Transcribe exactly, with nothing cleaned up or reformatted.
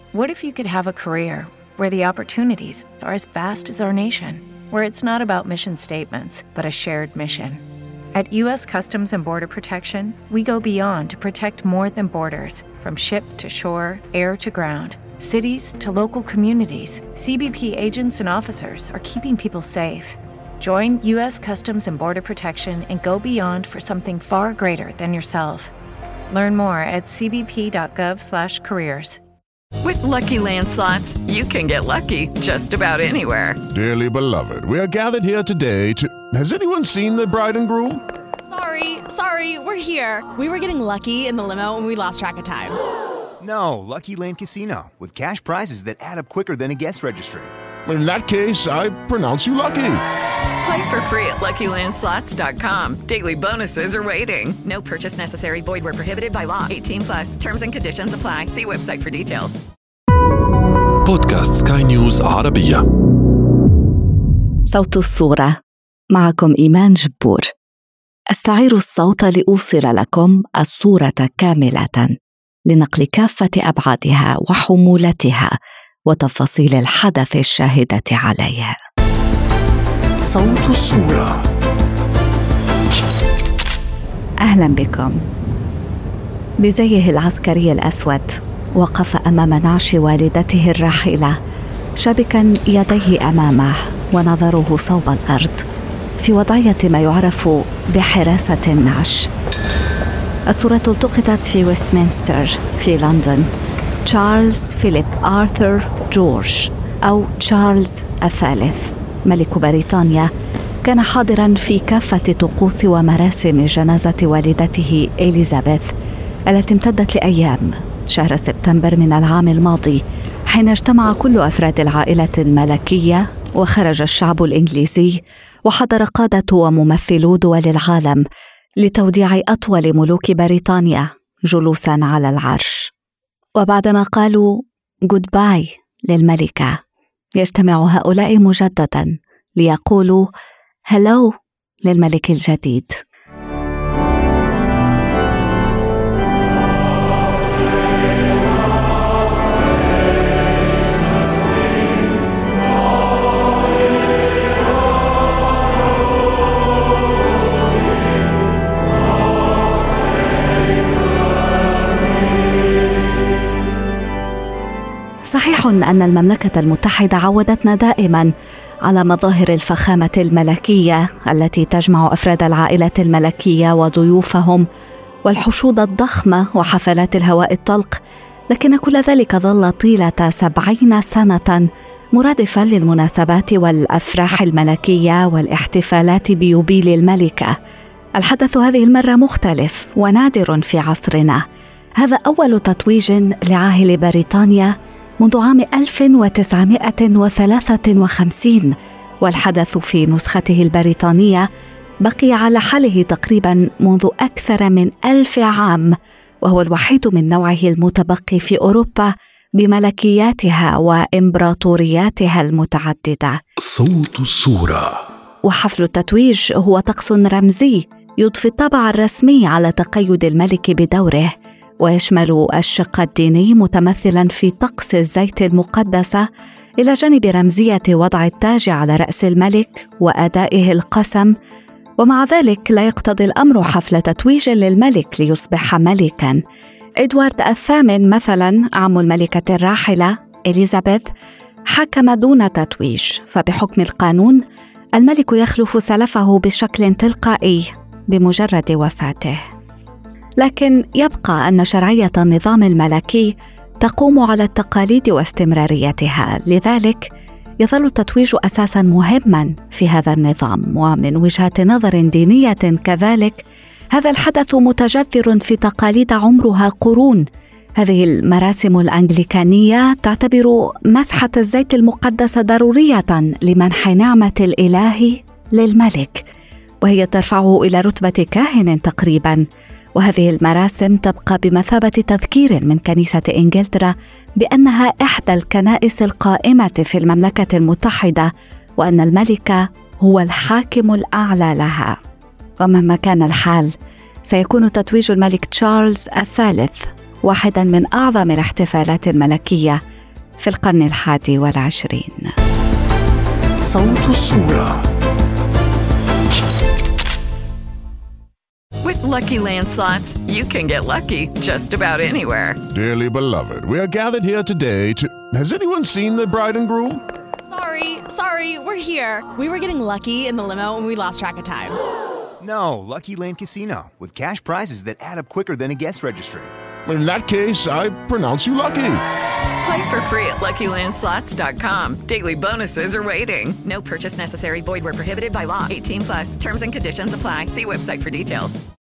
What if you could have a career where the opportunities are as vast as our nation, where it's not about mission statements, but a shared mission? At U S Customs and Border Protection, we go beyond to protect more than borders. From ship to shore, air to ground, cities to local communities, C B P agents and officers are keeping people safe. Join U S Customs and Border Protection and go beyond for something far greater than yourself. Learn more at c b p dot gov slash careers. With Lucky Land Slots, you can get lucky just about anywhere. Dearly beloved, we are gathered here today to... Has anyone seen the bride and groom? Sorry, sorry, we're here. We were getting lucky in the limo and we lost track of time. No, Lucky Land Casino, with cash prizes that add up quicker than a guest registry. In that case, I pronounce you lucky. Play for free at lucky land slots dot com. Daily bonuses are waiting. No purchase necessary. Void where prohibited by law. eighteen plus. Terms and conditions apply. See website for details. بودكاست سكاي نيوز عربية. صوت الصورة، معكم إيمان جبور. أستعير الصوت لأوصل لكم الصورة كاملة، لنقل كافة أبعادها وحمولتها وتفاصيل الحدث الشاهدة عليه. صوت الصورة. أهلا بكم. بزيه العسكري الأسود وقف أمام نعش والدته الراحلة، شابكا يديه أمامه ونظره صوب الأرض، في وضعية ما يعرف بحراسة النعش. الصورة التقطت في ويستمنستر في لندن. تشارلز فيليب آرثر جورج أو تشارلز الثالث ملك بريطانيا كان حاضراً في كافة طقوس ومراسم جنازة والدته إليزابيث التي امتدت لأيام شهر سبتمبر من العام الماضي، حين اجتمع كل أفراد العائلة الملكية وخرج الشعب الإنجليزي وحضر قادة وممثلو دول العالم لتوديع أطول ملوك بريطانيا جلوساً على العرش. وبعدما قالوا جود باي للملكة، يجتمع هؤلاء مجدداً ليقولوا هلو للملك الجديد. صحيح أن المملكة المتحدة عودتنا دائماً على مظاهر الفخامة الملكية التي تجمع أفراد العائلة الملكية وضيوفهم والحشود الضخمة وحفلات الهواء الطلق، لكن كل ذلك ظل طيلة سبعين سنة مرادفاً للمناسبات والأفراح الملكية والاحتفالات بيوبيل الملكة. الحدث هذه المرة مختلف ونادر في عصرنا. هذا أول تتويج لعاهل بريطانيا منذ عام ألف وتسعمائة وثلاثة وخمسين، والحدث في نسخته البريطانية بقي على حاله تقريباً منذ أكثر من ألف عام، وهو الوحيد من نوعه المتبقي في أوروبا بملكياتها وإمبراطورياتها المتعددة. صوت الصورة. وحفل التتويج هو طقس رمزي يضفي الطابع الرسمي على تقيد الملك بدوره، ويشمل الشق الديني متمثلاً في طقس الزيت المقدسة، إلى جانب رمزية وضع التاج على رأس الملك وأدائه القسم. ومع ذلك لا يقتضي الأمر حفل تتويج للملك ليصبح ملكاً. إدوارد الثامن مثلاً عم الملكة الراحلة إليزابيث حكم دون تتويج، فبحكم القانون الملك يخلف سلفه بشكل تلقائي بمجرد وفاته. لكن يبقى أن شرعية النظام الملكي تقوم على التقاليد واستمراريتها، لذلك يظل التتويج أساساً مهماً في هذا النظام. ومن وجهة نظر دينية كذلك، هذا الحدث متجذر في تقاليد عمرها قرون. هذه المراسم الأنجليكانية تعتبر مسحة الزيت المقدس ضرورية لمنح نعمة الإله للملك، وهي ترفعه إلى رتبة كاهن تقريباً. وهذه المراسم تبقى بمثابة تذكير من كنيسة إنجلترا بأنها إحدى الكنائس القائمة في المملكة المتحدة، وأن الملك هو الحاكم الأعلى لها. ومهما كان الحال، سيكون تتويج الملك تشارلز الثالث واحداً من أعظم الاحتفالات الملكية في القرن الحادي والعشرين. صوت الصورة. With Lucky Land Slots, you can get lucky just about anywhere. Dearly beloved, we are gathered here today to... Has anyone seen the bride and groom? Sorry, sorry, we're here. We were getting lucky in the limo and we lost track of time. No, Lucky Land Casino, with cash prizes that add up quicker than a guest registry. In that case, I pronounce you lucky. Play for free at lucky land slots dot com. Daily bonuses are waiting. No purchase necessary. Void where prohibited by law. eighteen plus. Terms and conditions apply. See website for details.